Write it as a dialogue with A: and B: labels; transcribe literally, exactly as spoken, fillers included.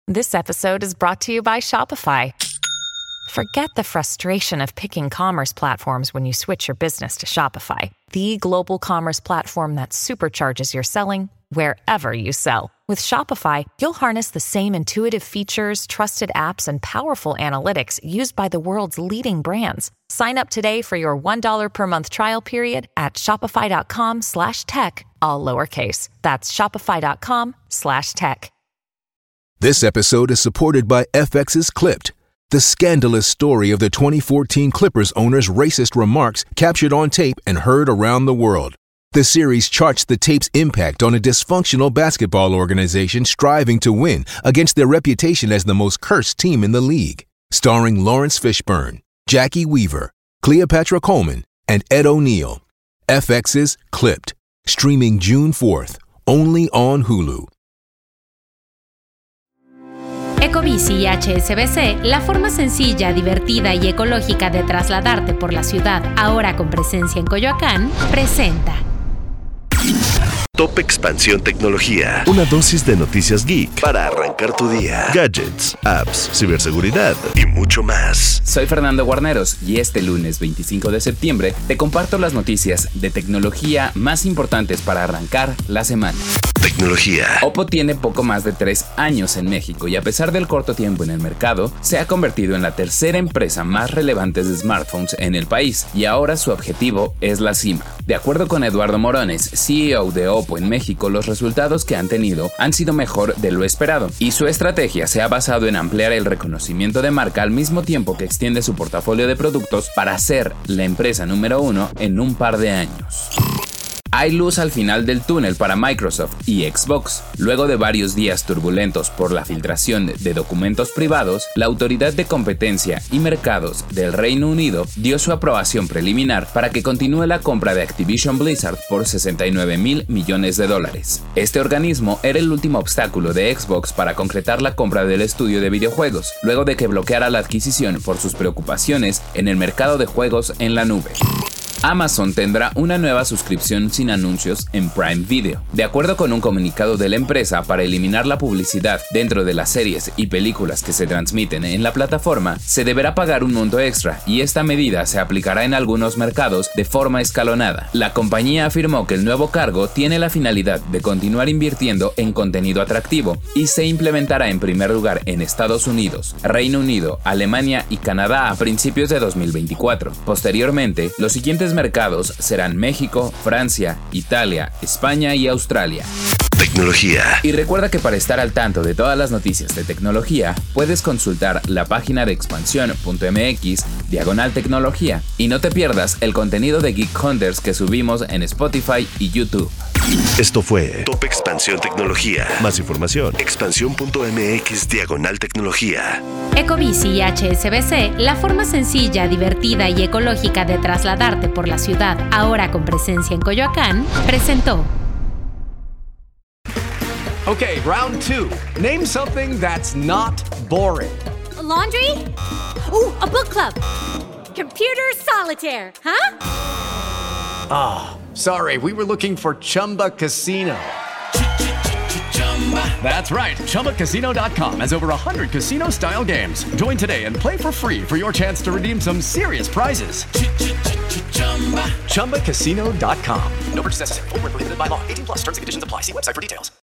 A: This episode is brought to you by Shopify. Forget the frustration of picking commerce platforms when you switch your business to Shopify, the global commerce platform that supercharges your selling wherever you sell. With Shopify, you'll harness the same intuitive features, trusted apps, and powerful analytics used by the world's leading brands. Sign up today for your one dollar per month trial period at shopify.com slash tech, all lowercase. That's shopify.com slash tech.
B: This episode is supported by F X's Clipped, the scandalous story of the twenty fourteen Clippers owner's racist remarks captured on tape and heard around the world. The series charts the tape's impact on a dysfunctional basketball organization striving to win against their reputation as the most cursed team in the league. Starring Lawrence Fishburne, Jackie Weaver, Cleopatra Coleman, and Ed O'Neill. F X's Clipped, streaming June fourth, only on Hulu.
C: Ecobici y H S B C, la forma sencilla, divertida y ecológica de trasladarte por la ciudad, ahora con presencia en Coyoacán, presenta
D: Top Expansión Tecnología. Una dosis de noticias geek para arrancar tu día. Gadgets, apps, ciberseguridad y mucho más.
E: Soy Fernando Guarneros y este lunes veinticinco de septiembre te comparto las noticias de tecnología más importantes para arrancar la semana.
D: Tecnología.
E: Oppo tiene poco más de tres años en México y a pesar del corto tiempo en el mercado, se ha convertido en la tercera empresa más relevante de smartphones en el país y ahora su objetivo es la cima. De acuerdo con Eduardo Morones, C E O de Oppo en México, los resultados que han tenido han sido mejor de lo esperado y su estrategia se ha basado en ampliar el reconocimiento de marca al mismo tiempo que extiende su portafolio de productos para ser la empresa número uno en un par de años. Hay luz al final del túnel para Microsoft y Xbox. Luego de varios días turbulentos por la filtración de documentos privados, la Autoridad de Competencia y Mercados del Reino Unido dio su aprobación preliminar para que continúe la compra de Activision Blizzard por sesenta y nueve mil millones de dólares. Este organismo era el último obstáculo de Xbox para concretar la compra del estudio de videojuegos, luego de que bloqueara la adquisición por sus preocupaciones en el mercado de juegos en la nube. Amazon tendrá una nueva suscripción sin anuncios en Prime Video. De acuerdo con un comunicado de la empresa, para eliminar la publicidad dentro de las series y películas que se transmiten en la plataforma, se deberá pagar un monto extra y esta medida se aplicará en algunos mercados de forma escalonada. La compañía afirmó que el nuevo cargo tiene la finalidad de continuar invirtiendo en contenido atractivo y se implementará en primer lugar en Estados Unidos, Reino Unido, Alemania y Canadá a principios de dos mil veinticuatro. Posteriormente, los siguientes mercados serán México, Francia, Italia, España y Australia.
D: Tecnología.
E: Y recuerda que para estar al tanto de todas las noticias de tecnología, puedes consultar la página de expansión punto m x diagonal tecnología y no te pierdas el contenido de Geek Hunters que subimos en Spotify y YouTube.
D: Esto fue Top Expansión Tecnología. Más información, expansión punto m x diagonal tecnología.
C: Ecobici y H S B C, la forma sencilla, divertida y ecológica de trasladarte por la ciudad, ahora con presencia en Coyoacán, presentó.
F: Okay, round two. Name something that's not boring.
G: A laundry? Ooh, a book club. Computer solitaire, huh?
F: Ah, oh, sorry, we were looking for Chumba Casino. That's right, Chumba Casino dot com has over one hundred casino-style games. Join today and play for free for your chance to redeem some serious prizes. Chumba Casino dot com. No purchase necessary. Void where prohibited by law. eighteen plus terms and conditions apply. See website for details.